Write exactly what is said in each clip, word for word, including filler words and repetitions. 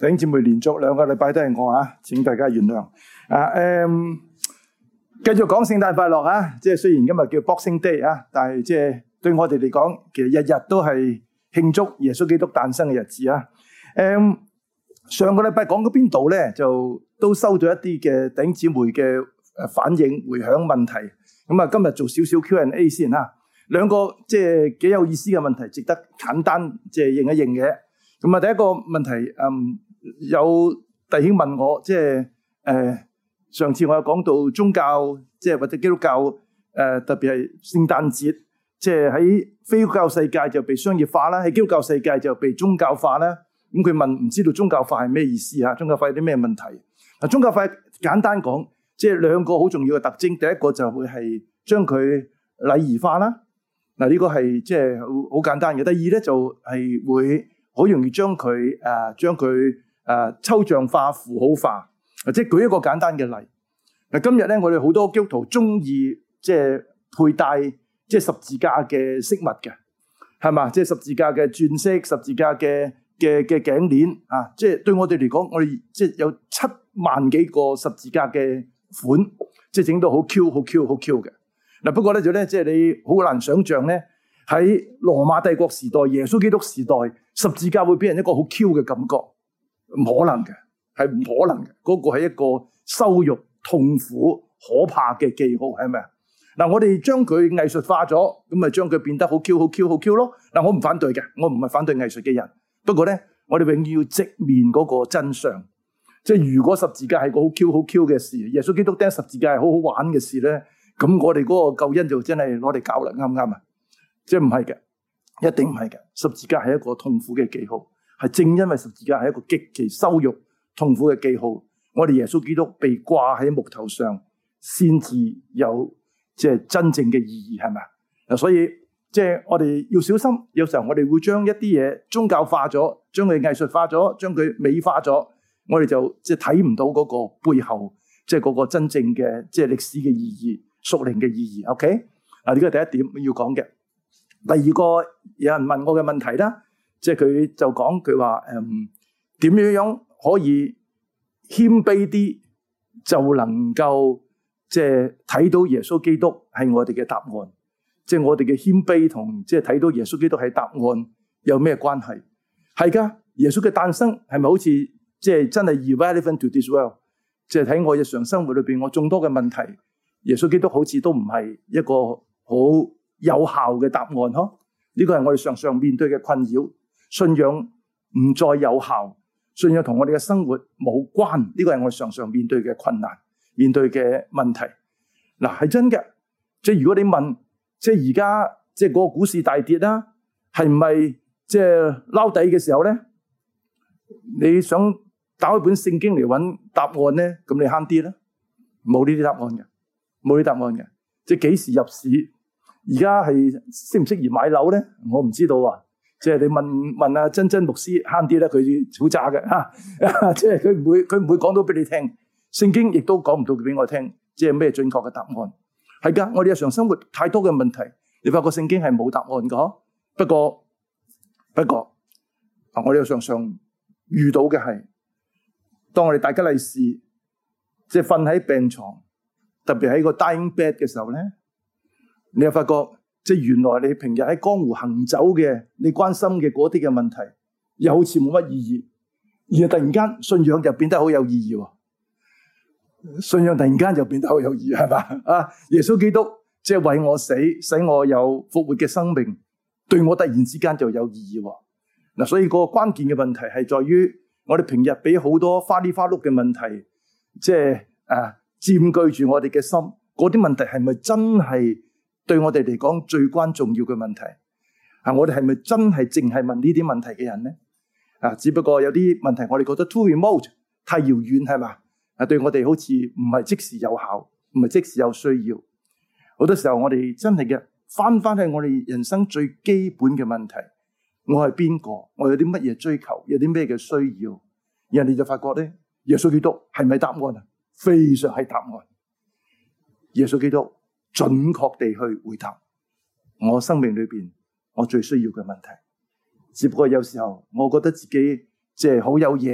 弟兄姊妹，連續兩個禮拜都係我啊，請大家原諒。啊，誒、嗯，繼續講聖誕快樂啊！即係雖然今日叫 Boxing Day 啊，但係即係對我哋嚟講，其實日日都係慶祝耶穌基督誕生嘅日子啊。誒、嗯，上個禮拜講到邊度咧，就都收到一啲嘅弟兄姊妹嘅誒反應、回響問題。咁啊，今日做少少 Q and A 先啊。兩個即係幾有意思嘅問題，值得簡單即係認一認嘅。咁啊，第一個問題，嗯。有弟兄問我，即係誒上次我有講到宗教，即係或者基督教誒、呃，特別係聖誕節，即係喺非基督教世界就被商業化啦，喺基督教世界就被宗教化啦。咁佢問唔知道宗教化係咩意思啊？宗教化有啲咩問題？嗱，宗教化簡單講，即係兩個好重要嘅特徵。第一個就會係將佢禮儀化啦。嗱，呢個係即係好好簡單嘅。第二咧就係會好容易將佢誒將佢。誒、呃，抽象化、符號化，即係舉一個簡單嘅例。嗱，今日咧，我哋好多基督徒中意即係佩戴即係十字架嘅飾物嘅，係嘛？即係十字架嘅鑽飾、十字架嘅嘅嘅頸鏈啊！即係對我哋嚟講，我哋即係有七萬幾個十字架嘅款，即係整到好 Q、好 Q、好 Q 嘅。嗱，不過咧就咧，即係你好難想象咧，喺羅馬帝國時代、耶穌基督時代，十字架會俾人一個好 Q 嘅感覺。唔可能嘅，係唔可能嘅。嗰、那個係一個羞辱、痛苦、可怕嘅記號，係咪啊？嗱，我哋將佢藝術化咗，咁咪將佢變得好 Q、好 Q、好 Q 咯。嗱，我唔反對嘅，我唔係反對藝術嘅人。不過咧，我哋永遠要直面嗰個真相。即係如果十字架係個好 Q、好 Q 嘅事，耶穌基督釘十字架係好好玩嘅事咧，咁我哋嗰個救恩就真係攞嚟搞啦，啱唔啱啊？即係唔係嘅，一定唔係嘅。十字架係一個痛苦嘅記號。係正因為十字架係一個極其羞辱、痛苦嘅記號，我哋耶穌基督被掛喺木頭上，先至有即係真正嘅意義，係咪啊？嗱，所以即係我哋要小心，有時候我哋會將一啲嘢宗教化咗，將佢藝術化咗，將佢美化咗，我哋就即係睇唔到嗰個背後，即係嗰個真正嘅即係歷史嘅意義、屬靈嘅意義。OK， 嗱，呢個係第一點要講嘅。第二個有人問我嘅問題啦。即係佢就講佢話誒點樣樣可以謙卑啲，就能夠即係睇到耶穌基督係我哋嘅答案。即係我哋嘅謙卑同即係睇到耶穌基督係答案有咩關係？係噶，耶穌嘅誕生係咪好似即係真係 irrelevant to this world？ 即係喺我日常生活裏邊，我眾多嘅問題，耶穌基督好似都唔係一個好有效嘅答案嗬？呢個係我哋常常面對嘅困擾。信仰唔再有效，信仰同我哋嘅生活冇關，呢個係我哋常常面對嘅困難，面對嘅問題。嗱，係真嘅，即係如果你問，即係而家即係嗰個股市大跌啦，係唔係即係撈底嘅時候咧？你想打開本聖經嚟揾答案咧，咁你慳啲啦，冇呢啲答案嘅，冇呢啲答案嘅。即係幾時入市？而家係適唔適宜買樓咧？我唔知道啊。即係你問問阿真真牧師慳啲咧，佢好渣嘅嚇，即係佢唔會佢唔會講到俾你聽，聖經亦都講唔到俾我聽，即係咩準確嘅答案。係㗎，我哋日常生活太多嘅問題，你發覺聖經係冇答案㗎。不過不過，我哋又常常遇到嘅係，當我哋大吉利是即係瞓喺病床，特別喺個 dying bed 嘅時候咧，你又發覺。即係原來你平日喺江湖行走嘅，你關心嘅嗰啲嘅問題，又好似冇乜意義，而突然間信仰就變得好有意義喎。信仰突然間就變得好有意義，係嘛？啊，耶穌基督即係為我死，使我有復活嘅生命，對我突然之間就有意義喎。嗱，所以個關鍵嘅問題係在於我哋平日俾好多花里花碌嘅問題，即係誒佔據住我哋嘅心，嗰啲問題係咪真係？對我哋嚟講最關重要嘅問題啊，我哋係咪真係淨係問呢啲問題嘅人呢？啊，只不過有啲問題我哋覺得 too remote 太遙遠，係嘛？啊，對我哋好似唔係即時有效，唔係即時有需要。好多時候我哋真係嘅翻翻去我哋人生最基本嘅問題，我係邊個？我有啲乜嘢追求？有啲咩嘅需要？然後你就發覺咧，耶穌基督係咪答案啊？非常係答案。耶穌基督準確地去回答我生命裏邊我最需要嘅問題。只不過有時候我覺得自己即係好有嘢，不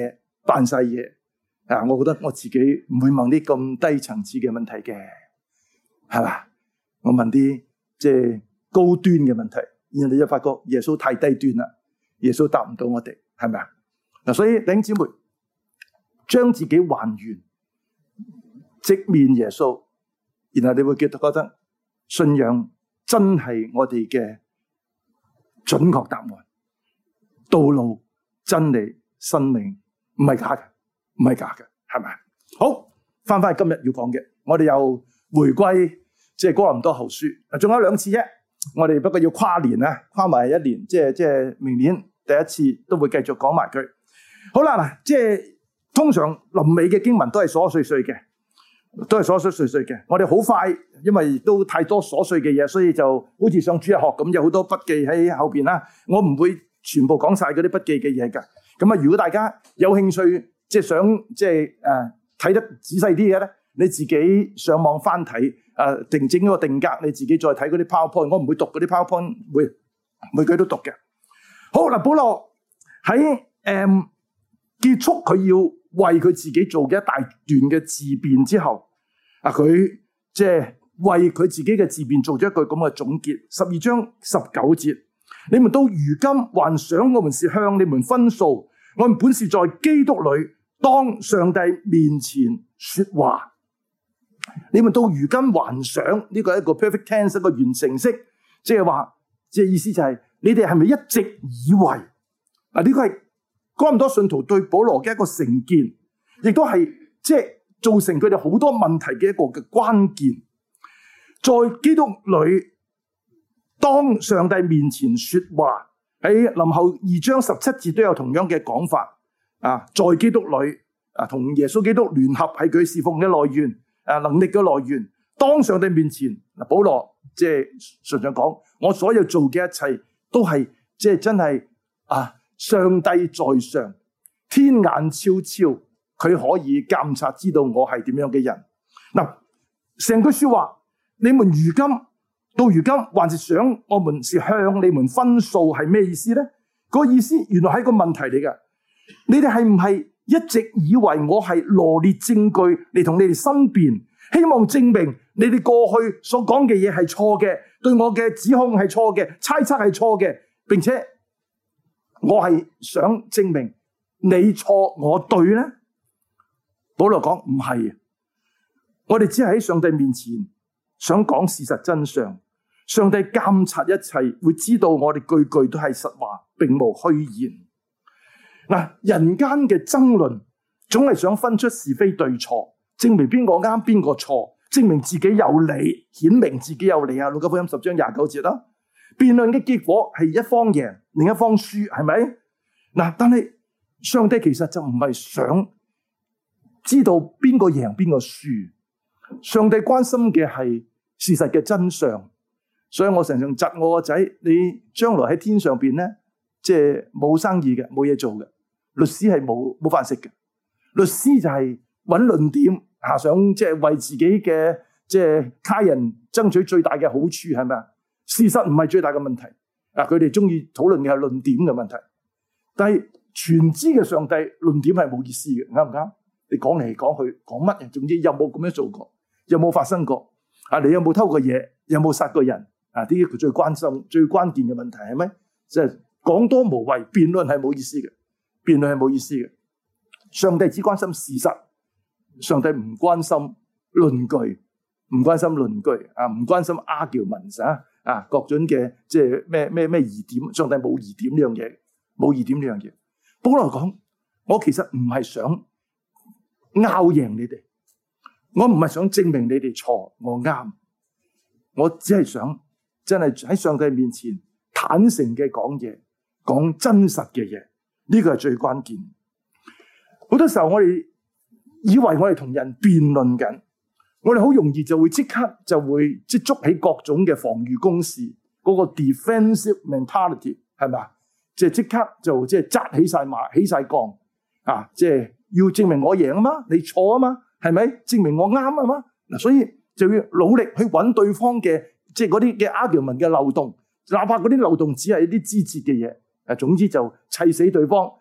扮晒嘢啊！我覺得我自己唔會問啲咁低層次嘅問題嘅，係嘛？我問啲即係高端嘅問題，然後你就發覺耶穌太低端啦，耶穌答唔到我哋，係咪啊？嗱，所以弟兄姊妹將自己還原，直面耶穌，然後你會覺得覺得信仰真係我哋嘅準確答案，道路、真理、生命，唔係假嘅，唔係假嘅，係咪？好，翻返去今日要講嘅，我哋又回歸即係哥林多後書，仲有兩次啫，我哋不過要跨年啊，跨埋一年，即係即係明年第一次都會繼續講埋佢。好啦，嗱，即係通常臨尾嘅經文都係瑣碎碎嘅，都係瑣碎碎碎嘅。我哋好快，因為都太多瑣碎嘅嘢，所以就好似上主日學咁，有好多筆記喺後邊啦。我唔會全部講晒嗰啲筆記嘅嘢噶。咁啊，如果大家有興趣，即係想即係誒睇得仔細啲嘅咧，你自己上網翻睇誒，定整嗰個定格，你自己再睇嗰啲 PowerPoint。我唔會讀嗰啲 PowerPoint，每每句都讀嘅。好嗱，保羅喺誒。嗯結束佢要為佢自己做嘅一大段嘅自辯之後，啊，佢即係為佢自己嘅自辯做咗一句咁嘅總結。十二章十九節，你們到如今還想我們是向你們分訴，我們本是在基督裏當上帝面前說話。你們到如今還想，呢個係一個 perfect tense，一個完成式，即係話，即係意思就係、是、你哋係咪一直以為啊？呢個係哥林多信徒對保羅嘅一個成見，亦都係即係造成佢哋好多問題嘅一個嘅關鍵。在基督裏當上帝面前說話，喺林後二章十七節都有同樣嘅講法啊。在基督裏啊，同耶穌基督聯合係佢侍奉嘅來源，誒能力嘅來源。當上帝面前，嗱，保羅即係順常講，我所有做嘅一切都係即係真係啊。上帝在上，天眼昭昭，佢可以監察知道我係點樣嘅人。嗱，成句說話，你們如今到如今還是想我們是向你們分訴，係咩意思呢？嗰個意思原來係一個問題嚟㗎。你哋係唔係一直以為我係羅列證據嚟同你哋申辯，希望證明你哋過去所講嘅嘢係錯嘅，對我嘅指控係錯嘅，猜測係錯嘅，並且我係想證明你錯我對呢？保羅講唔係，我哋只係喺上帝面前想講事實真相。上帝監察一切，會知道我哋句句都係實話，並無虛言。嗱，人間嘅爭論總係想分出是非對錯，證明邊個啱邊個錯，證明自己有理，顯明自己有理啊！路加福音十章廿九節啦。辯論嘅結果係一方贏，另一方輸，係咪？嗱，但係上帝其實就唔係想知道邊個贏邊個輸，上帝關心嘅係事實嘅真相。所以我常常窒我個仔，你將來喺天上邊咧，即係冇生意嘅，冇嘢做嘅，律師係冇冇飯食嘅。律師就係揾論點，下想即係為自己嘅即係家人爭取最大嘅好處，係咪啊？事實唔係最大嘅問題，啊！佢哋中意討論嘅係論點嘅問題，但係全知嘅上帝論點係冇意思嘅，啱唔啱？你講嚟講去講乜嘢？總之有冇咁樣做過？有冇發生過？啊！你有冇偷過嘢？有冇殺過人？啊！呢啲佢最關心、最關鍵嘅問題係咩？即係講多無謂，辯論係冇意思嘅，辯論係冇意思嘅。上帝只關心事實，上帝唔關心論據，唔關心論據啊，唔關心 arguments 啊。啊，各種嘅即係咩咩咩疑點，上帝冇疑點呢樣嘢，冇疑點呢樣嘢。保羅講，我其實唔係想拗贏你哋，我唔係想證明你哋錯，我啱，我只係想真係喺上帝面前坦誠嘅講嘢，講真實嘅嘢，呢個係最關鍵。好多時候我哋以為我哋同人辯論緊。我哋好容易就會即刻就會即捉起各種嘅防禦攻勢，嗰個 defensive mentality 係咪啊？即係即刻就即係紮起晒馬，起晒槓啊！即係要證明我贏啊嘛，你錯啊嘛，係咪？證明我啱啊嘛。嗱，所以就要努力去揾對方嘅即係嗰啲嘅 argument 嘅漏洞，哪怕嗰啲漏洞只係一啲枝節嘅嘢，誒，總之就砌死對方，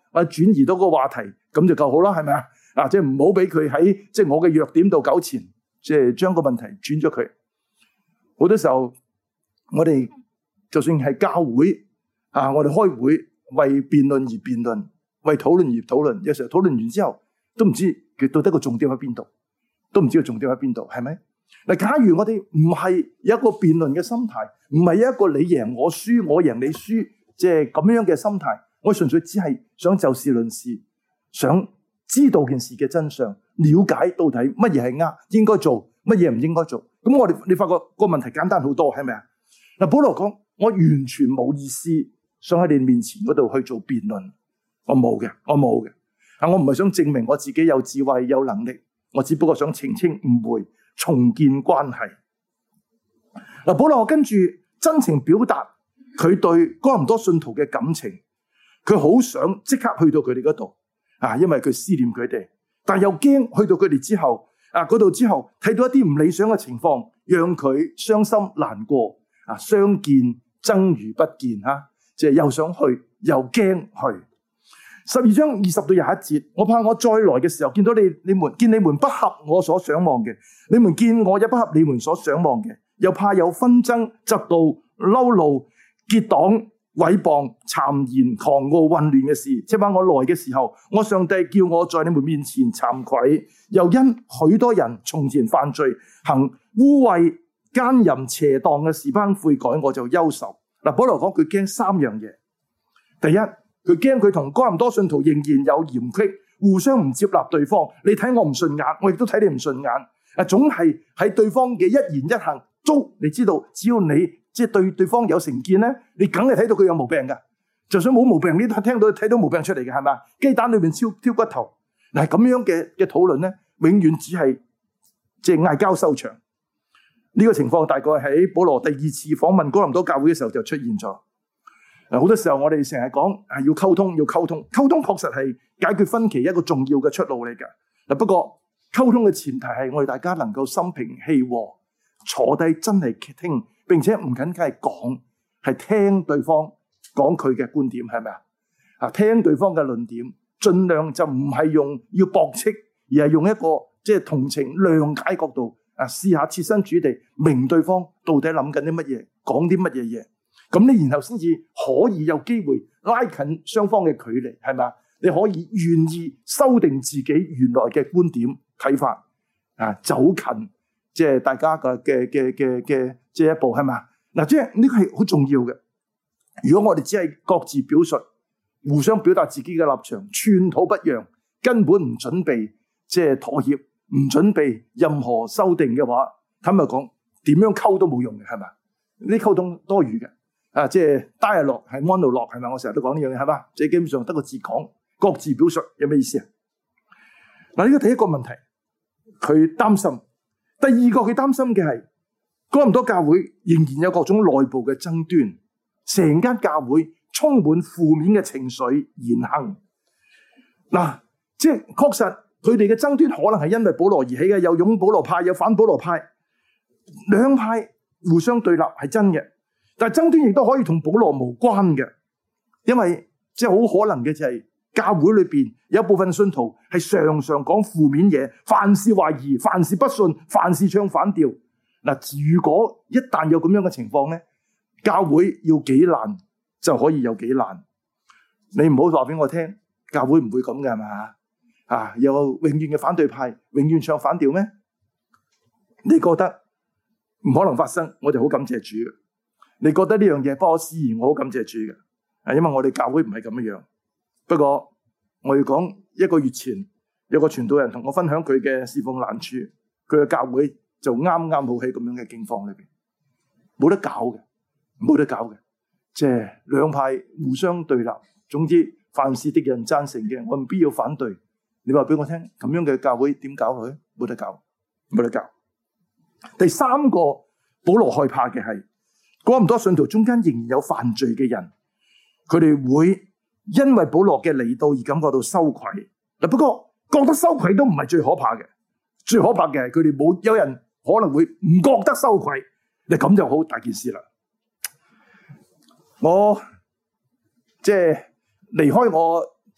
或者轉移到個話題，咁就夠好啦，係咪啊？啊，即係唔好俾佢喺即係我嘅弱點度糾纏，即係將個問題轉咗佢。好多時候，我哋就算係教會啊，我哋開會為辯論而辯論，為討論而討論，有時候討論完之後都唔知佢到底個重點喺邊度，都唔知個重點喺邊度，係咪？嗱，假如我哋唔係有一個辯論嘅心態，唔係一個你贏我輸，我贏你輸，即係咁樣嘅心態，我純粹只係想就事論事，想知道件事嘅真相，了解到底乜嘢係啱，應該做乜嘢唔應該做。咁我哋你發覺個問題簡單好多，係咪啊？嗱，保羅講，我完全冇意思想喺你面前嗰度去做辯論，我冇嘅，我冇嘅。啊，我唔係想證明我自己有智慧有能力，我只不過想澄清誤會，重建關係。嗱，保羅跟住真情表達佢對哥林多信徒嘅感情，佢好想即刻去到佢哋嗰度啊，因為佢思念佢哋，但又驚去到佢哋之後啊，嗰度之後睇到一啲唔理想嘅情況，讓佢傷心難過啊，相見憎如不見吓，即係又想去又驚去。十二章二十到廿一節，我怕我再來嘅時候見到你，你們見你們不合我所想望嘅，你們見我也不合你們所想望嘅，又怕有紛爭、嫉妒、嬲怒、結黨、毀謗、讒言、狂傲、混亂嘅事。即係話我來嘅時候，我上帝叫我在你們面前慚愧，又因許多人從前犯罪、行污穢、奸淫、邪蕩嘅事，班悔改，我就憂愁。嗱，保羅講佢驚三樣嘢，第一。佢驚佢同哥林多信徒仍然有嫌隙，互相唔接納對方。你睇我唔順眼，我亦都睇你唔順眼。啊，總係喺對方嘅一言一行，都你知道，只要你即係對對方有成見咧，你梗係睇到佢有毛病噶。就算冇毛病，你都聽到睇到毛病出嚟嘅，係咪？雞蛋裏面挑挑骨頭。嗱，咁樣嘅嘅討論咧，永遠只係即係嗌交收場。呢個情況大概喺保羅第二次訪問哥林多教會嘅時候就出現咗。好多時候我哋成日講要溝通，要溝通，溝通確實係解決分歧一個重要嘅出路嚟㗎。不過溝通嘅前提係我哋大家能夠心平氣和，坐低真係聽，並且唔僅僅係講，係聽對方講佢嘅觀點，係咪啊？啊，聽對方嘅論點，盡量就唔係用要駁斥，而係用一個即係同情諒解角度啊，試下設身處地明對方到底諗緊啲乜嘢，講啲乜嘢嘢。咁你然後先至可以有機會拉近雙方嘅距離，係咪？你可以願意修訂自己原來嘅觀點睇法啊，走近即係大家嘅嘅嘅嘅嘅即係一步，係咪？嗱，即係呢個係好重要嘅。如果我哋只係各自表述，互相表達自己嘅立場，寸土不讓，根本唔準備即係妥協，唔準備任何修訂嘅話，坦白講，點樣溝都冇用嘅，係咪？呢啲溝通多餘嘅。啊，即係 dialogue 係 monologue，係咪？我成日都講呢樣嘢，係嘛？即係基本上得個字講，各自表述有咩意思啊？嗱，呢個第一個問題，佢擔心。第二個佢擔心嘅係，哥林多教會仍然有各種內部嘅爭端，成間教會充滿負面嘅情緒言行。嗱，即係確實佢哋嘅爭端可能係因為保羅而起嘅，有擁保羅派，有反保羅派，兩派互相對立係真嘅。但係爭端亦都可以同保羅無關嘅，因為即係好可能嘅就係教會裏邊有部分信徒係常常講負面嘢，凡事懷疑，凡事不信，凡事唱反調。嗱，如果一旦有咁樣嘅情況咧，教會要幾難就可以有幾難。你唔好話俾我聽，教會唔會咁嘅係嘛？啊，有永遠嘅反對派，永遠唱反調咩？你覺得唔可能發生？我哋好感謝主嘅。你覺得呢樣嘢不可思議，我好感謝主嘅，啊，因為我哋教會唔係咁樣。不過我要講，一個月前有個傳道人同我分享佢嘅侍奉難處，佢嘅教會就啱啱好喺咁樣嘅境況裏邊，冇得搞嘅，冇得搞嘅，即係兩派互相對立。總之，凡事敵人贊成嘅，我唔必要反對。你話俾我聽，咁樣嘅教會點搞落去？冇得搞，冇得搞。第三個，保羅害怕嘅係，哥林多信徒中間仍然有犯罪嘅人，佢哋會因為保羅嘅嚟到而感覺到羞愧。嗱，不過覺得羞愧都唔係最可怕嘅，最可怕嘅係佢哋冇有人可能會唔覺得羞愧。你咁就好大件事啦。我即係離開我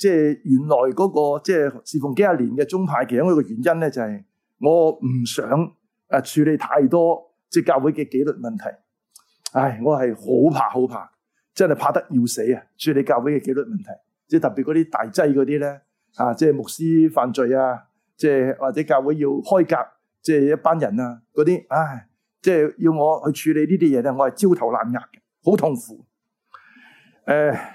即係原來嗰個即係侍奉幾廿年嘅宗派，其中一個原因咧就係我唔想誒處理太多即係教會嘅紀律問題。唉，我係好怕好怕，真係怕得要死啊！處理教會嘅紀律問題，即係特別嗰啲大劑嗰啲咧，啊，即係牧師犯罪啊，即係或者教會要開革，即係一班人啊嗰啲，唉，即係要我去處理呢啲嘢咧，我係焦頭爛額嘅，好痛苦。誒、呃，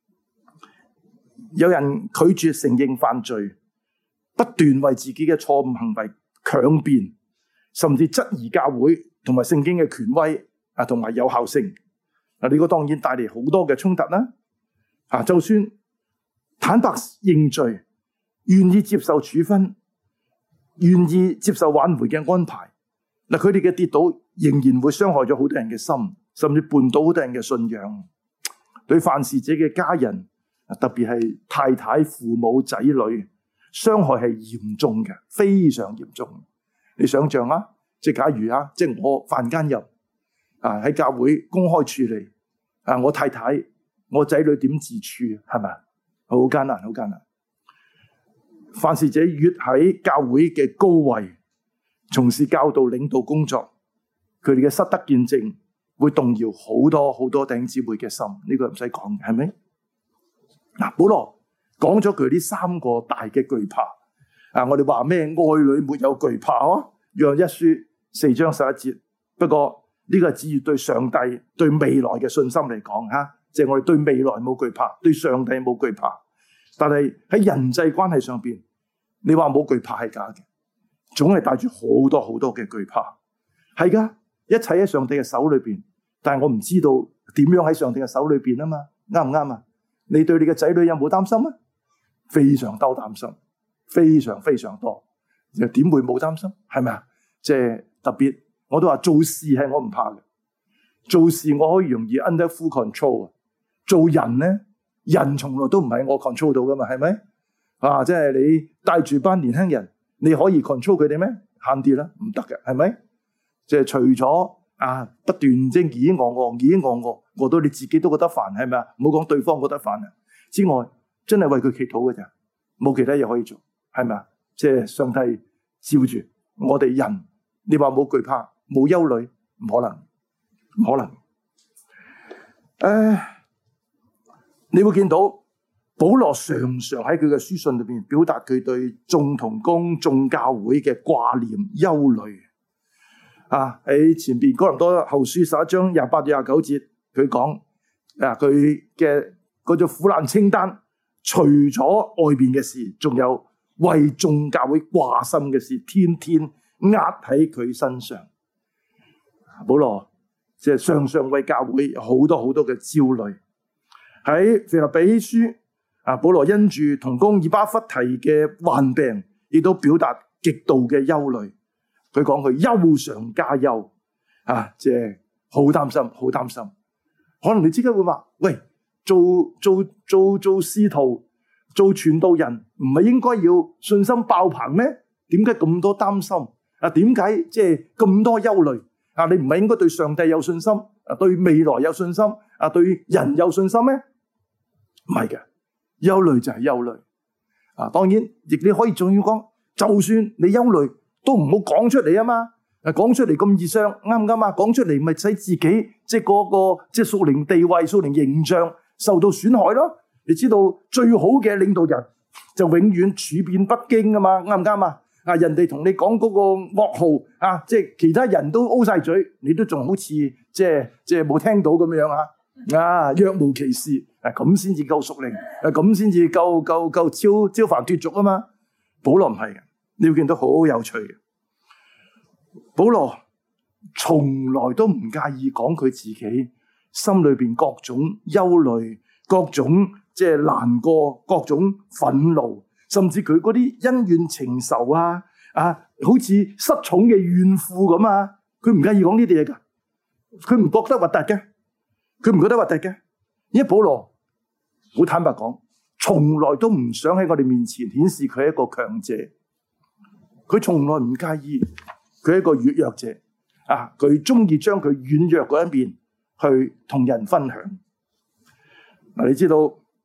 有人拒絕承認犯罪，不斷為自己嘅錯誤行為強辯，甚至質疑教會同埋聖經嘅權威啊，同埋有效性。啊，呢個當然帶嚟好多嘅衝突啦。啊，就算坦白認罪，願意接受處分，願意接受挽回嘅安排，嗱，佢哋嘅跌倒仍然會傷害咗好多人嘅心，甚至絆倒好多人嘅信仰。對犯事者嘅家人，特別係太太、父母、仔女，傷害係嚴重嘅，非常嚴重。你想象啊，即係假如啊，即係我犯奸淫啊，喺教會公開處理啊，我太太、我仔女點自處？係咪？好艱難，好艱難。犯事者越喺教會嘅高位從事教導、領導工作，佢哋嘅失德見證會動搖好多好多弟兄姊妹嘅心，呢、這個唔使講嘅，係咪？嗱，保羅講咗佢呢三個大嘅懼怕啊！我哋話咩？愛裏沒有懼怕啊！約一書四章十一節。不過呢、這個係指住對上帝、對未來嘅信心嚟講吓，即、啊、係、就是、我哋對未來冇懼怕，對上帝冇懼怕。但係喺人際關係上邊，你話冇懼怕係假嘅，總係帶住好多好多嘅懼怕。係噶，一切喺上帝嘅手裏邊。但係我唔知道點樣喺上帝嘅手裏邊啊嘛，啱唔啱啊？你對你嘅仔女有冇擔心啊？非常多擔心，非常非常多。又點會冇擔心？係咪啊？即係特別，我都話做事係我唔怕嘅，做事我可以容易 under full control 啊。做人咧，人從來都唔係我 control 到噶嘛，係咪？啊，即係你帶住班年輕人，你可以 control 佢哋咩？慳啲啦，唔得嘅，係咪？即係除咗。啊！不斷即係咦我我咦我我，我到你自己都覺得煩，係咪啊？唔好講對方覺得煩啊！之外，真係為佢祈禱嘅咋，冇其他嘢可以做，係咪啊？即係上帝照住我哋人，你話冇懼怕、冇憂慮，唔可能，唔可能。誒、呃，你會見到保羅常常喺佢嘅書信裏邊表達佢對眾同工、眾教會嘅掛念、憂慮。啊！喺前邊哥林多後書十一章廿八到廿九節，佢講啊，佢嘅嗰種苦難清單，除咗外邊嘅事，仲有為眾教會掛心嘅事，天天壓喺佢身上。保羅即係常常為教會有好多好多嘅焦慮。喺腓立比書啊，保羅因住同工以巴弗提嘅患病，亦都表達極度嘅憂慮。佢講佢憂上加憂，啊，即係好擔心，好擔心。可能你即刻會話：喂，做做做做使徒、做傳道人，唔係應該要信心爆棚咩？點解咁多擔心？啊，點解即係咁多憂慮？啊，你唔係應該對上帝有信心，啊，對未來有信心，啊，對人有信心咩？唔係嘅，憂慮就係憂慮。啊，當然亦你可以仲要講，就算你憂慮，都唔好講出嚟啊嘛！誒，講出嚟咁易傷，啱唔啱啊？講出嚟咪使自己即係嗰個即係屬靈地位、屬靈形象受到損害咯。你知道最好嘅領導人就永遠處變不驚啊嘛，啱唔啱啊？啊，人哋同你講嗰個噩耗啊，即係其他人都 O 晒嘴，你都仲好似即係即係冇聽到咁樣啊！啊，若無其事，誒咁先至夠屬靈，誒咁先至夠夠夠超超凡脫俗啊嘛！保羅唔係嘅。你會見到好有趣嘅，保羅從來都唔介意講佢自己心裏邊各種憂慮、各種即係難過、各種憤怒，甚至佢嗰啲恩怨情仇啊啊，好似失寵嘅怨婦咁啊，佢唔介意講呢啲嘢噶，佢唔覺得核突嘅，佢唔覺得核突嘅，因為保羅好坦白講，從來都唔想喺我哋面前顯示佢係一個強者。佢從來唔介意，佢係一個軟弱者啊！佢中意將佢軟弱嗰一面去同人分享。嗱，你知道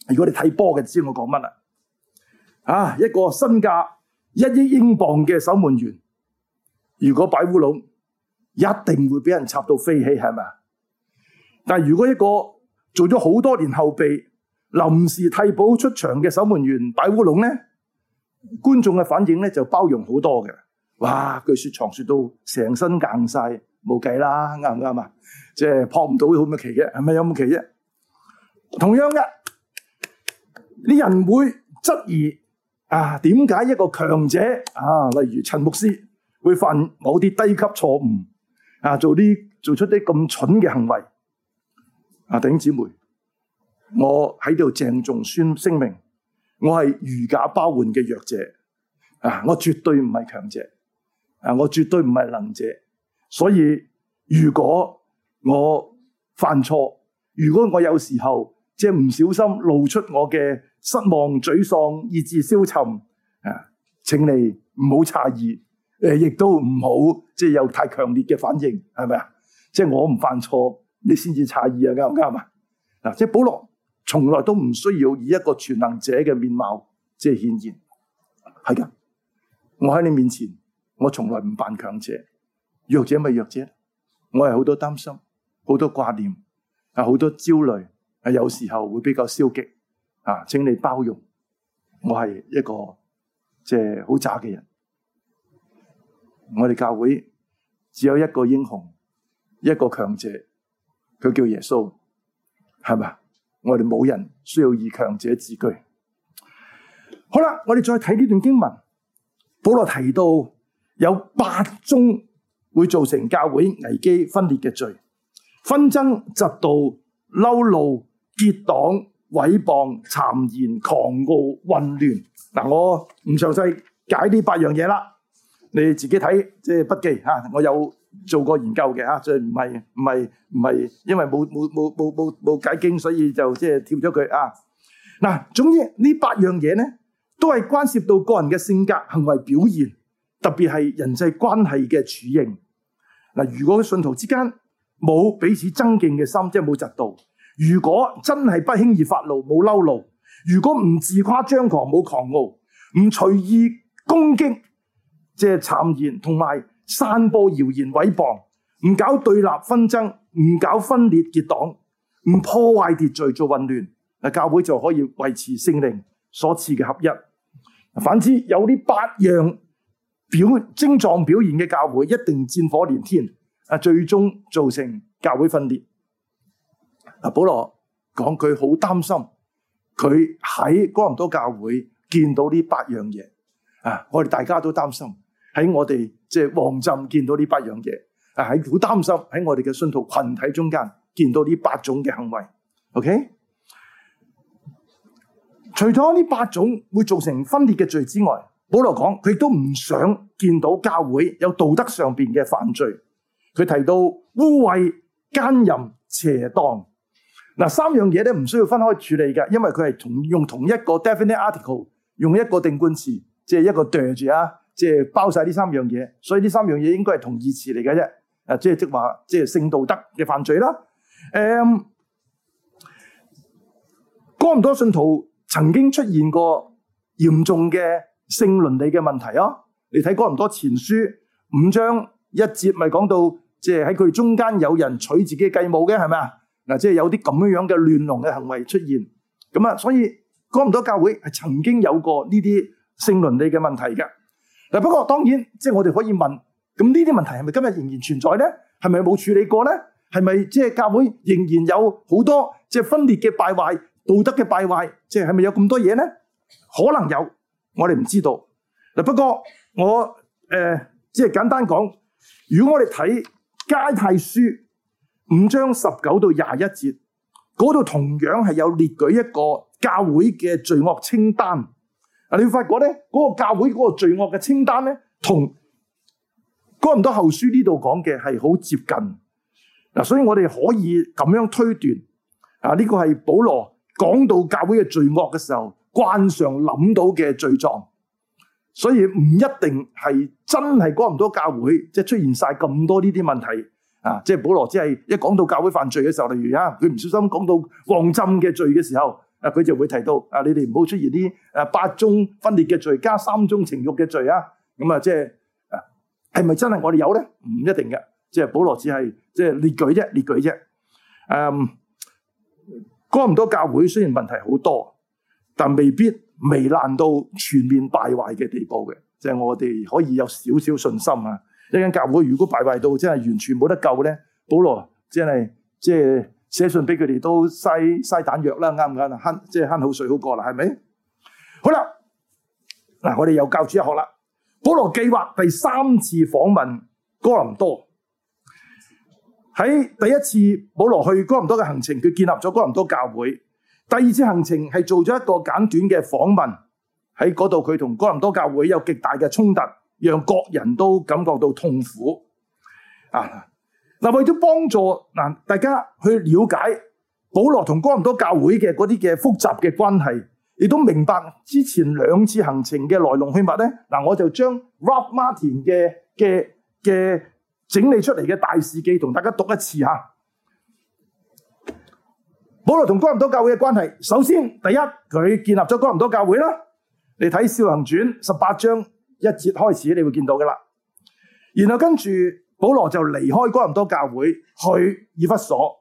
如果你睇波嘅，知我講乜啦？啊，一個身價一億英鎊嘅守門員，如果擺烏龍，一定會俾人插到飛起，係咪？但係如果一個做咗好多年後備，臨時替補出場嘅守門員擺烏龍咧，觀眾嘅反應咧就包容好多嘅。哇！佢說床說到成身硬晒，冇計啦，啱唔啱啊？即係撲唔到好乜奇嘅，係咪有咁奇啫？同樣嘅，啲人會質疑啊，點解一個強者啊，例如陳牧師會犯某啲低級錯誤啊，做啲做出啲咁蠢嘅行為啊？弟兄姊妹，我喺度鄭重宣聲明，我係如假包換嘅弱者啊！我絕對唔係強者啊！我絕對唔係能者。所以如果我犯錯，如果我有時候即係唔小心露出我嘅失望、沮喪，以致消沉啊，請你唔好詫異，誒，亦都唔好即係有太強烈嘅反應，係咪啊？即係我唔犯錯，你先至詫異啊，啱唔啱啊？嗱，即係保羅從來都唔需要以一個全能者嘅面貌即係顯現，係噶。我喺你面前，我從來唔扮強者，弱者咪弱者，我係好多擔心，好多掛念，啊，好多焦慮，啊，有時候會比較消極，啊，請你包容，我係一個即係好渣嘅人。我哋教會只有一個英雄，一個強者，佢叫耶穌，係咪？我哋冇人需要以強者自居。好啦，我哋再睇呢段經文，保羅提到有八宗會造成教會危機分裂嘅罪：紛爭、嫉妒、嬲怒、結黨、毀謗、讒言、狂傲、混亂。嗱，我唔詳細解呢八樣嘢啦，你自己睇即係筆記吓。我有做過研究嘅吓，所以唔係唔係唔係因為冇冇冇冇冇冇解經，所以就即係跳咗佢啊。嗱，總之呢八樣嘢咧，都係關涉到個人嘅性格、行為表現，特別係人際關係嘅處境。嗱，如果信徒之間冇彼此爭競嘅心，即係冇嫉妒；如果真係不輕易發怒，冇嬲怒；如果唔自誇張狂，冇狂傲，唔隨意攻擊，即係讒言，同埋散播謠言毀謗，唔搞對立紛爭，唔搞分裂結黨，唔破壞秩序做混亂，嗱，教會就可以維持聖靈所賜嘅合一。反之，有呢八樣表症狀表現嘅教會，一定戰火連天，啊，最終造成教會分裂。啊，保羅講佢好擔心，佢喺哥林多教會見到呢八樣嘢，啊，我哋大家都擔心喺我哋即係旺浸見到呢八樣嘢，啊，喺好擔心喺我哋嘅信徒群體中間見到呢八種嘅行為。OK， 除咗呢八種會造成分裂嘅罪之外，保羅講佢亦都唔想見到教會有道德上邊嘅犯罪。佢提到污穢、奸淫、邪蕩，嗱，三樣嘢咧唔需要分開處理嘅，因為佢係同用同一個 definite article， 用一個定冠詞，即係一個對住啊，即係包晒呢三樣嘢，所以呢三樣嘢應該係同義詞嚟嘅啫。誒，即係即話，即係性道德嘅犯罪啦。誒，哥林多信徒曾經出現過嚴重嘅性倫理嘅問題啊！你睇哥林多前書五章一節，咪講到即係喺佢哋中間有人娶自己嘅繼母嘅，係咪啊？嗱，即係有啲咁樣樣嘅亂倫嘅行為出現，咁啊，所以哥林多教會係曾經有過呢啲性倫理嘅問題嘅。嗱，不過當然，即係我哋可以問，咁呢啲問題係咪今日仍然存在咧？係咪冇處理過咧？係咪即係教會仍然有好多即係分裂嘅敗壞、道德嘅敗壞？即係係咪有咁多嘢咧？可能有，我哋唔知道。嗱，不過我誒即係簡單講，如果我哋睇加太書五章十九到廿一節，嗰度同樣係有列舉一個教會嘅罪惡清單。啊，你會發覺咧，嗰個教會嗰個罪惡嘅清單咧，同哥林多後書呢度講嘅係好接近。嗱，所以我哋可以咁樣推斷，啊，呢個係保羅講到教會嘅罪惡嘅時候，慣常諗到嘅罪狀。所以唔一定係真係哥林多教會即係出現晒咁多呢啲問題啊！即係保羅只係一講到教會犯罪嘅時候，例如啊，佢唔小心講到旺浸嘅罪嘅時候啊，佢就會提到啊，你哋唔好出現啲誒八宗分裂嘅罪加三宗情欲嘅罪啊。咁啊，即係係咪真係我哋有咧？唔一定嘅，即係保羅只係即係列舉啫，列舉啫。誒，哥林多教會雖然問題好多，但未必糜爛到全面敗壞嘅地步嘅，即係我哋可以有少少信心啊。一間教會如果敗壞到真係完全冇得救咧，保羅真係即係寫信俾佢哋都嘥嘥彈藥啦，啱唔啱啊？慳即係慳口水好過啦，係咪？好啦，嗱，我哋又教主日學啦。保羅計劃第三次訪問哥林多。喺第一次保羅去哥林多嘅行程，佢建立咗哥林多教會。第二次行程係做咗一個簡短嘅訪問，喺嗰度佢同哥林多教會有極大嘅衝突，讓各人都感覺到痛苦。啊，嗱，為咗幫助嗱大家去了解保羅同哥林多教會嘅嗰啲嘅複雜嘅關係，亦都明白之前兩次行程嘅來龍去脈咧。嗱，我就將 Ralph Martin 嘅嘅嘅整理出嚟嘅大事記同大家讀一次吓。保羅同哥林多教會嘅關係，首先第一，佢建立咗哥林多教會啦。你睇《使徒行傳》十八章一節開始，你會見到噶啦。然後跟住保羅就離開哥林多教會去以弗所，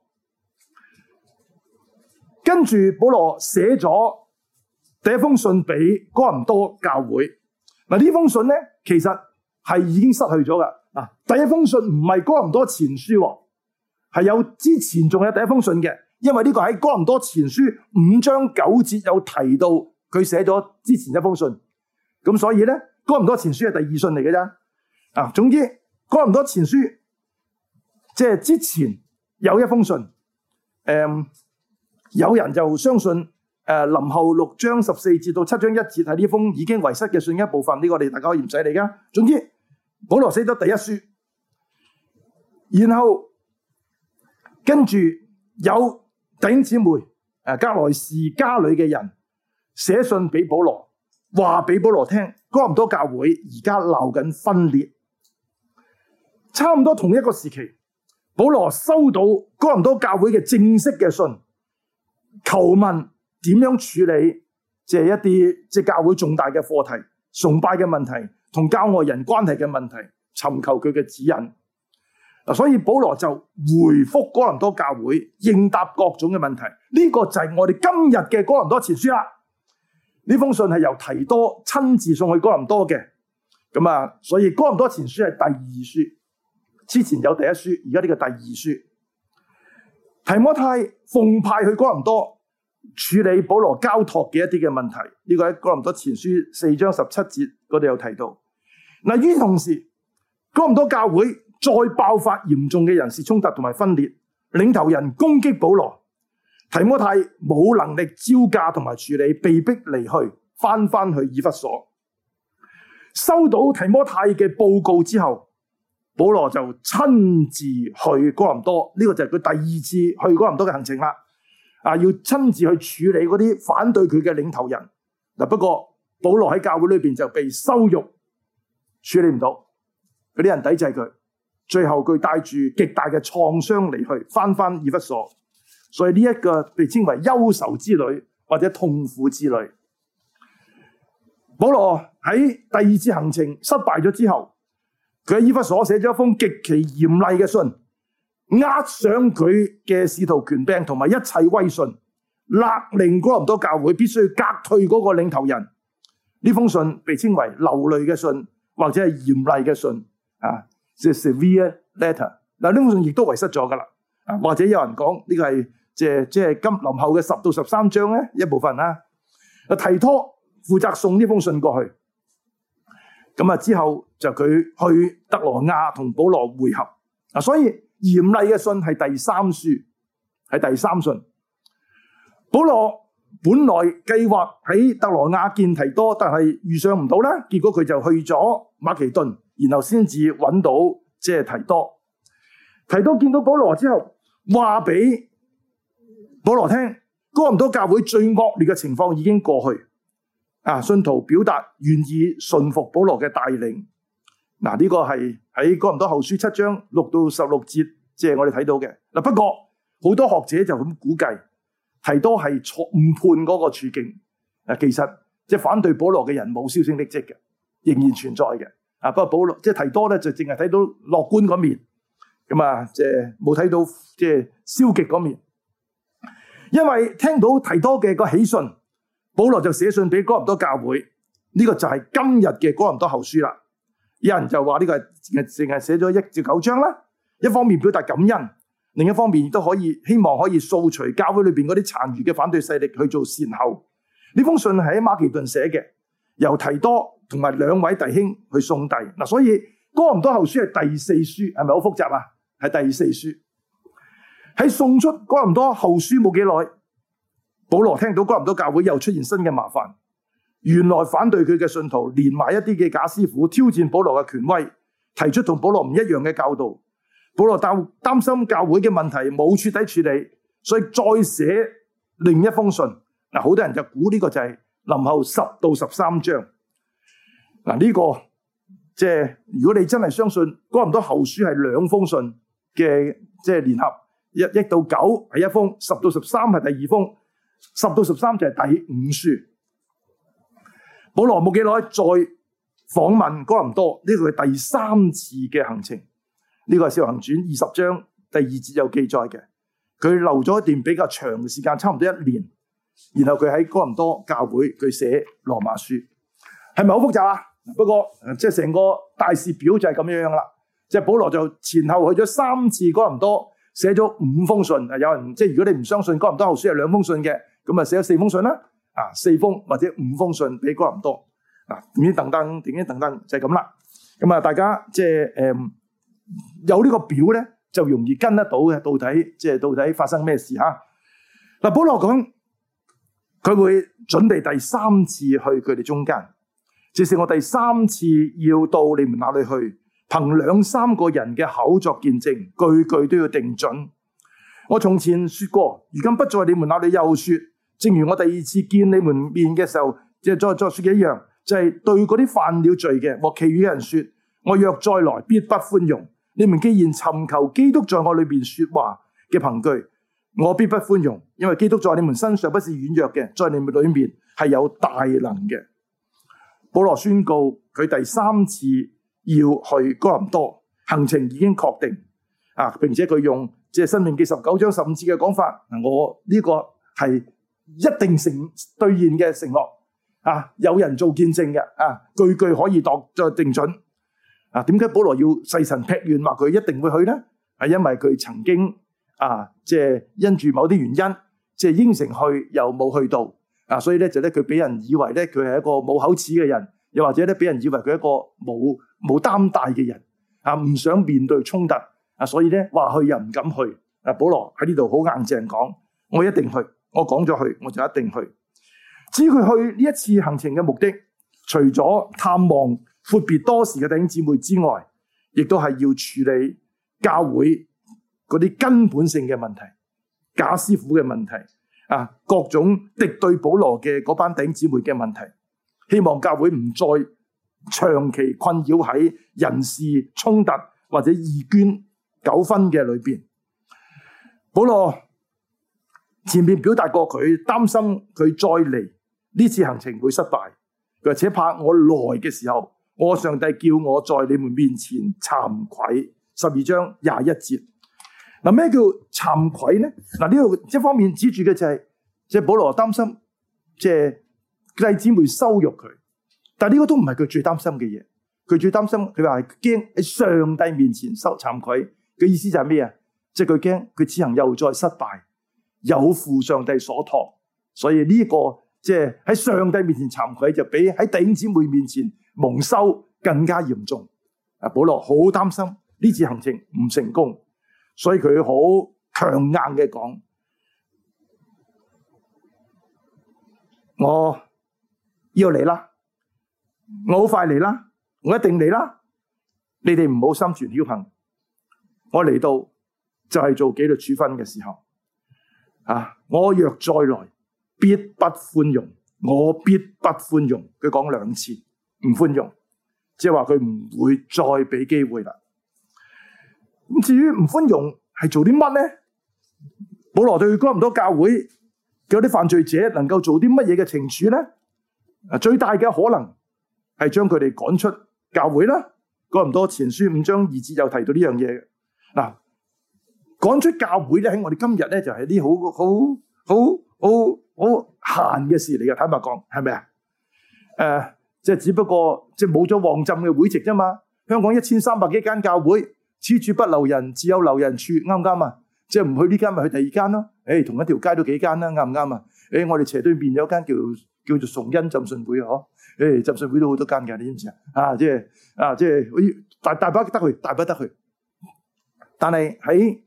跟住保羅寫咗第一封信俾哥林多教會。嗱，呢封信咧其實係已經失去咗噶。嗱，第一封信唔係哥林多前書，係有之前仲有第一封信嘅。因為呢個喺哥林多前書五章九節有提到佢寫咗之前一封信，咁所以咧哥林多前書係第二信嚟嘅啫。啊，總之哥林多前書即係之前有一封信，誒、嗯，有人就相信誒林後六章十四節到七章一節係呢封已經遺失嘅信一部分，呢、這個我哋大家可以唔使理噶。總之保羅寫咗第一書，然後跟住有弟兄姊妹，誒，革來氏家裏嘅人寫信俾保羅，話俾保羅聽，哥林多教會而家鬧緊分裂。差唔多同一個時期，保羅收到哥林多教會嘅正式嘅信，求問點樣處理即係一啲即係教會重大嘅課題、崇拜嘅問題同教外人關係嘅問題，尋求佢嘅指引。所以保羅就回覆哥林多教會，應答各種嘅問題。呢個就係我哋今日嘅哥林多前書啦。呢封信係由提多親自送去哥林多嘅。咁啊，所以哥林多前書係第二書，之前有第一書，而家呢個第二書。提摩太奉派去哥林多處理保羅交託嘅一啲嘅問題。呢個喺哥林多前書四章十七節嗰度有提到。嗱，與此同時，哥林多教會再爆發嚴重嘅人事衝突同埋分裂，領頭人攻擊保羅，提摩太冇能力招架同埋處理，被逼離去，翻翻去以弗所。收到提摩太嘅報告之後，保羅就親自去哥林多，呢、這個就係佢第二次去哥林多嘅行程啦。啊，要親自去處理嗰啲反對佢嘅領頭人。嗱，不過保羅喺教會裏邊就被羞辱，處理唔到，嗰啲人抵制佢。最後佢帶住極大嘅創傷離去，翻翻以弗所，所以呢一個被稱為憂愁之旅或者痛苦之旅。保羅喺第二次行程失敗咗之後，佢喺以弗所寫咗一封極其嚴厲嘅信，壓上佢嘅使徒權柄同埋一切威信，勒令哥林多教會必須革退嗰個領頭人。呢封信被稱為流淚嘅信或者係嚴厲嘅信啊。即係 severe letter， 嗱，呢封信亦都遺失咗噶啦，或者有人講呢個係即係即係今林後嘅十到十三章咧一部分啦。提多負責送呢封信過去，咁啊之後就佢去特羅亞同保羅會合，啊，所以嚴厲嘅信係第三書，係第三信。保羅本來計劃喺特羅亞見提多，但係遇上唔到啦，結果佢就去咗馬其頓。然後先至揾到即係提多，提多見到保羅之後，話俾保羅聽，哥林多教會最惡劣嘅情況已經過去，啊，信徒表達願意順服保羅嘅帶領。嗱，呢個係喺哥林多後書七章六到十六節，即係我哋睇到嘅。嗱，不過好多學者就咁估計， 提多係錯誤判嗰個處境。啊，其實即係反對保羅嘅人冇銷聲匿跡嘅，仍然存在嘅。啊，不過保羅即係提多咧，就淨係睇到樂觀嗰面，咁啊，即係冇睇到即係消極嗰面。因為聽到提多嘅個喜訊，保羅就寫信俾哥林多教會，呢、這個就係今日嘅哥林多後書啦。有人就話呢個係淨係寫咗一至九章啦，一方面表達感恩，另一方面亦都可以希望可以掃除教會裏邊嗰啲殘餘嘅反對勢力去做善後。呢封信係喺馬其頓寫嘅，由提多同埋兩位弟兄去送遞嗱，所以哥林多後書係第四書，係咪好複雜啊？係第四書。喺送出哥林多後書冇幾耐，保羅聽到哥林多教會又出現新嘅麻煩，原來反對佢嘅信徒連埋一啲嘅假師傅挑戰保羅嘅權威，提出同保羅唔一樣嘅教導。保羅擔擔心教會嘅問題冇徹底處理，所以再寫另一封信。嗱，好多人就估呢個就係林後十到十三章。嗱，呢個即係如果你真係相信哥林多後書係兩封信嘅即係聯合。一一到九係一封，十到十三係第二封，十到十三就係第五書。保羅冇幾耐再訪問哥林多，呢個係第三次嘅行程。呢個係《使徒行傳》二十章第二節有記載嘅。佢留咗一段比較長嘅時間，差唔多一年。然後佢喺哥林多教會佢寫羅馬書，係咪好複雜啊？不過即係成個大事表就係咁樣樣啦。即係保羅就前後去咗三次哥林多。寫咗五封信，有人即係如果你唔相信哥林多後書係兩封信嘅，咁啊寫咗四封信啦，啊四封或者五封信俾哥林多，啊點點等等，點點等等就係咁啦。咁啊大家即係誒有呢個表咧，就容易跟得到嘅，到底即係到底發生咩事吓？嗱，保羅講佢會準備第三次去佢哋中間，這是我第三次要到你們那裡去。憑兩三個人嘅口作見證，句句都要定準。我從前說過，如今不在你們那裡又說，正如我第二次見你們面嘅時候，即係再再說嘅一樣，就係、是、對嗰啲犯了罪嘅和其餘嘅人說，我若再來，必不寬容。你們既然尋求基督在我裏邊說話嘅憑據，我必不寬容，因為基督在你們身上不是軟弱嘅，在你們裏面係有大能嘅。保羅宣告佢第三次要去哥林多，行程已經確定啊，並且佢用即係申命記十九章十五節嘅講法，我呢個係一定成兌現嘅承諾啊，有人做見證嘅啊，句句可以度再定準啊。點解保羅要誓神劈願話佢一定會去呢？係因為佢曾經啊，即係因住某啲原因，即係應承去又冇去到啊，所以咧就咧佢俾人以為咧佢係一個冇口齒嘅人，又或者咧俾人以為佢係一個冇冇擔帶嘅人啊，唔想面對衝突啊，所以咧話去又唔敢去啊。保羅喺呢度好硬淨講，我一定去，我講咗去，我就一定去。至於佢去呢一次行程嘅目的，除咗探望闊別多時嘅弟兄姊妹之外，亦都係要處理教會嗰啲根本性嘅問題，假師傅嘅問題啊，各種敵對保羅嘅嗰班弟兄姊妹嘅問題，希望教會唔再長期困擾喺人事衝突或者義捐糾紛嘅裏邊。保羅前面表達過佢擔心佢再嚟呢次行程會失敗，佢話且怕我來嘅時候，我上帝叫我在你們面前慚愧。十二章廿一節。嗱，咩叫慚愧呢？嗱，呢度一方面指住嘅就係即係保羅擔心即係弟兄姊妹羞辱佢。但係呢個都唔係佢最擔心嘅嘢，佢最擔心佢話係驚喺上帝面前受慚愧嘅意思就係咩啊？即係佢驚佢此行又再失敗，有負上帝所託，所以呢個即係喺上帝面前慚愧就比喺弟兄姊妹面前蒙羞更加嚴重。啊，保羅好擔心呢次行程唔成功，所以佢好強硬嘅講：我要嚟啦！我好快嚟啦，我一定嚟啦！你哋唔好心存僥倖，我嚟到就係做紀律處分嘅時候啊！我若再來，必不寬容，我必不寬容。佢講兩次唔寬容，即係話佢唔會再俾機會啦。咁至於唔寬容係做啲乜呢？保羅對哥林多教會嗰啲犯罪者能夠做啲乜嘢嘅懲處咧？啊，最大嘅可能係將佢哋趕出教會啦。哥林多前書五章二節有提到呢樣嘢。嗱，趕出教會咧，喺我哋今日咧就係啲好好好好好閒嘅事嚟嘅。坦白講，係咪啊？誒、呃，即係只不過即係冇咗旺浸嘅會籍啫嘛。香港一千三百幾間教會，此處不留人，自有留人處，啱唔啱啊？即係唔去呢間，咪去第二間咯。誒，同一條街都幾間啦，啱唔啱啊？誒，我哋斜對面有間叫叫做崇恩浸信會嗬。誒，浸信會都好多間嘅，你知唔知啊？啊，即係啊，即係大大把得去，大把得去。但係喺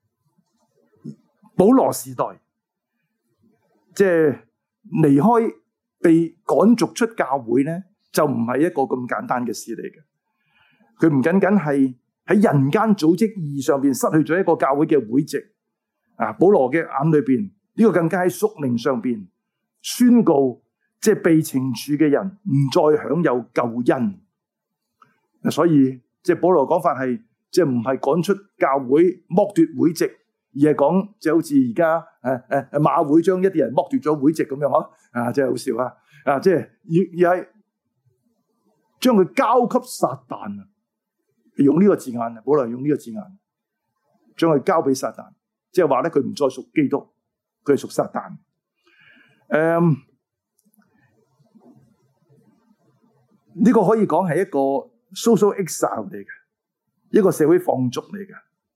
保羅時代，即係離開被趕逐出教會咧，就唔係一個咁簡單嘅事嚟嘅。佢唔僅僅係喺人間組織意義上邊失去咗一個教會嘅會籍啊！保羅嘅眼裏邊呢個更加喺屬靈上邊宣告，即係被懲處嘅人唔再享有救恩。所以即係保羅講法係，即係唔係趕出教會剝奪會籍，而係講就好似而家誒誒馬會將一啲人剝奪咗會籍咁樣嗬啊！真係好笑啊！啊，即係而而係將佢交給撒旦啊！用呢個字眼啊，保羅用呢個字眼，將佢交俾撒旦，即係話咧佢唔再屬基督，佢係屬撒旦。誒，呢個可以講係一個 social exile 嚟嘅，一個社會放逐嚟嘅。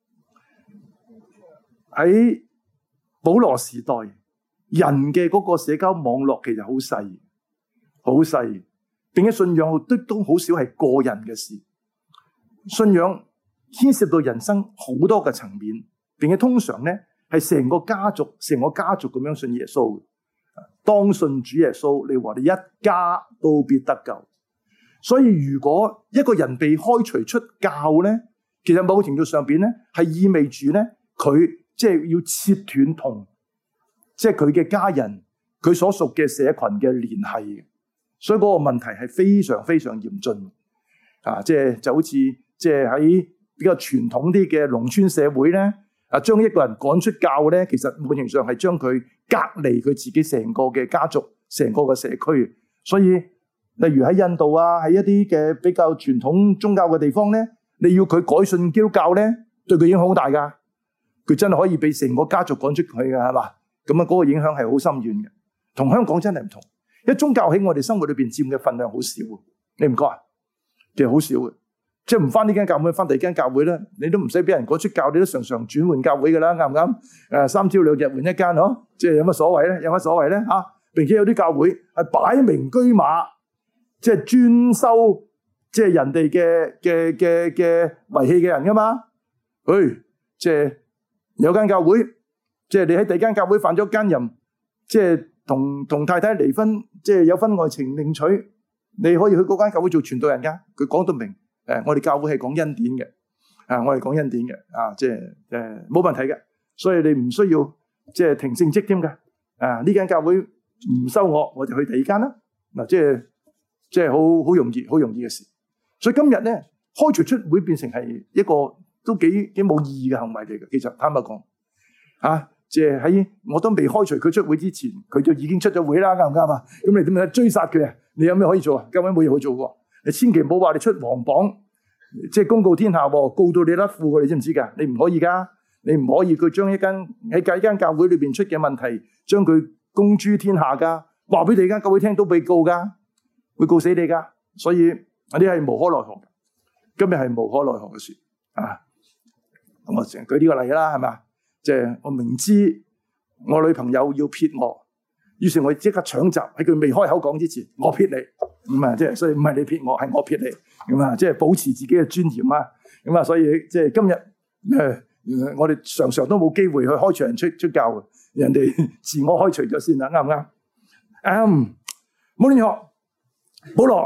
喺保羅時代，人嘅嗰個社交網絡其實好細，好細，並且信仰都都好少係個人嘅事。信仰牽涉到人生好多嘅層面，並且通常咧係成個家族、成個家族咁樣信耶穌。當信主耶穌，你話你一家都必得救。所以如果一個人被開除出教咧，其實某程度上邊咧係意味住咧佢即係要切斷同即係佢嘅家人、佢所屬嘅社群嘅聯繫。所以嗰個問題係非常非常嚴峻啊！即係就好似。即係喺比較傳統啲嘅農村社會咧，啊將一個人趕出教咧，其實某程度上係將佢隔離佢自己成個嘅家族、成個嘅社區。所以，例如喺印度啊，喺一啲嘅比較傳統宗教嘅地方咧，你要佢改信基督教咧，對佢影響好大㗎。佢真係可以俾成個家族趕出佢㗎，係嘛？咁啊，嗰個影響係好深遠嘅。同香港真係唔同，因為宗教喺我哋生活裏邊佔嘅份量好少，你唔覺啊？其實好少嘅。即係唔翻呢間教會，翻第二間教會咧，你都唔使俾人趕出教，你都常常轉換教會噶啦，啱唔啱？誒，三朝兩日換一間，嗬，即係有乜所謂咧？有乜所謂咧？吓，並且有啲教會係擺明車馬，即係專收，即係人哋嘅嘅嘅嘅遺棄嘅人噶嘛？誒，即係有間教會，即係你喺第二間教會犯咗奸淫，即係同同太太離婚，即係有婚外情另娶，你可以去嗰間教會做傳道人噶，佢講到明。誒，我哋教會係講恩典嘅，啊，我哋講恩典嘅，啊，即係誒冇問題嘅，所以你唔需要即係停聖職添嘅，啊，呢間教會唔收我，我就去第二間啦，嗱，即係即係好好容易，好容易嘅事。所以今日咧，開除出會變成係一個都幾幾冇意義嘅行為嚟嘅。其實坦白講，啊，即係喺我都未開除佢出會之前，佢就已經出咗會啦，啱唔啱啊？咁你點樣追殺佢啊？你有咩可以做啊？教會冇嘢可以做嘅。你千祈唔好話你出黃榜，即係公告天下，告到你甩褲嘅，你知唔知噶？你唔可以噶，你唔可以佢將一間喺第一間教會裏邊出嘅問題，將佢公諸天下噶，話俾第二間教會聽都被告噶，會告死你噶。所以呢啲係無可奈何，今日係無可奈何嘅事啊！我成日舉呢個例啦，係咪？即係我明知我女朋友要撇我，於是我即刻搶閘喺佢未開口講之前，我撇你。咁啊，即係所以唔係你撇我，係我撇你，咁啊，即係保持自己嘅尊嚴啊，咁啊，所以即係今日誒，我哋常常都冇機會去開除人出出教嘅，人哋自我開除咗先啦，啱唔啱？啱，冇亂學。保羅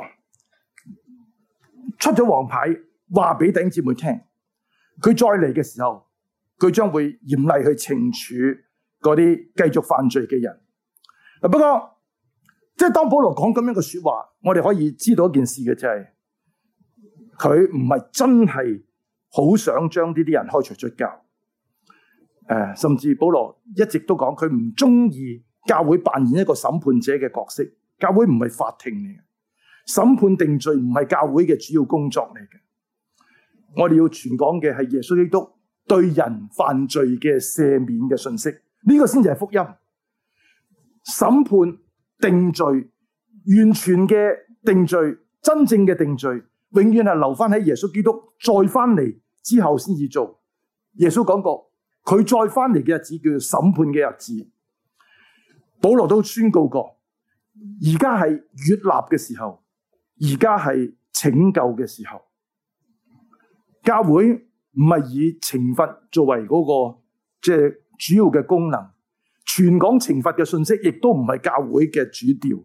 出咗黃牌，話俾弟兄姊妹聽，佢再嚟嘅時候，佢將會嚴厲去懲處嗰啲繼續犯罪嘅人。不過，即係當保羅講咁樣嘅說話，我哋可以知道一件事嘅就係，佢唔係真係好想將呢啲人開除出教。誒，甚至保羅一直都講佢唔中意教會扮演一個審判者嘅角色。教會唔係法庭嚟嘅，審判定罪唔係教會嘅主要工作嚟嘅。我哋要傳講嘅係耶穌基督對人犯罪嘅赦免嘅信息，呢個先至係福音。審判定罪，完全嘅定罪，真正嘅定罪，永遠係留翻喺耶穌基督再翻嚟之後先至做。耶穌講過，佢再翻嚟嘅日子叫做審判嘅日子。保羅都宣告過，而家係悅納嘅時候，而家係拯救嘅時候。教會唔係以懲罰作為嗰個即係主要嘅功能，傳講懲罰嘅信息亦都唔係教會嘅主調。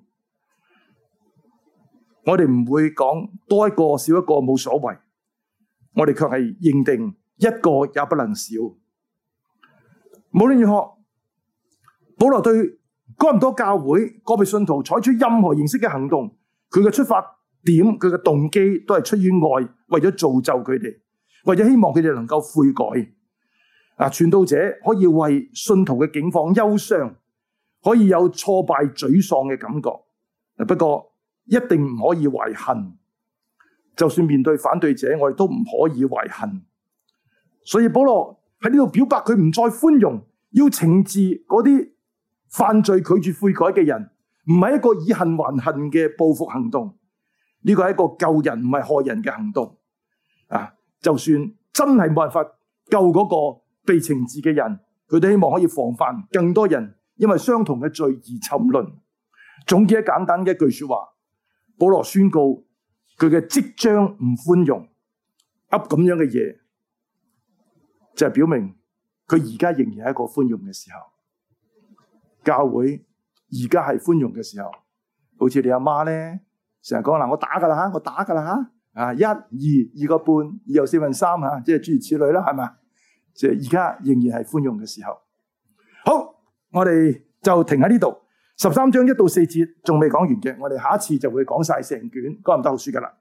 我哋唔會講多一個少一個冇所謂，我哋卻係認定一個也不能少。無論如何，保羅對哥林多教會個別信徒採取任何形式嘅行動，佢嘅出發點、佢嘅動機都係出於愛，為咗造就佢哋，為咗希望佢哋能夠悔改。啊，傳道者可以為信徒嘅境況憂傷，可以有挫敗、沮喪嘅感覺。不過一定唔可以懷恨，就算面對反對者，我哋都唔可以懷恨。所以保羅喺呢度表白佢唔再寬容，要懲治嗰啲犯罪拒絕悔改嘅人，唔係一個以恨還恨嘅報復行動，呢個係一個救人唔係害人嘅行動。啊，就算真係冇辦法救嗰個被懲治嘅人，佢都希望可以防範更多人因為相同嘅罪而沉淪。總結一簡單嘅一句說話，保羅宣告佢嘅即將唔寬容，噏咁樣嘅嘢，就係表明佢而家仍然係一個寬容嘅時候。教會而家係寬容嘅時候，好似你阿媽咧，成日講嗱，我打噶啦吓，我打噶啦吓，啊一二二個半，二又四分三吓，即係諸如此類啦，係咪？即係而家仍然係寬容嘅時候。好，我哋就停喺呢度。十三章一到四節仲未講完嘅，我哋下一次就會講晒成卷哥林多後書噶啦。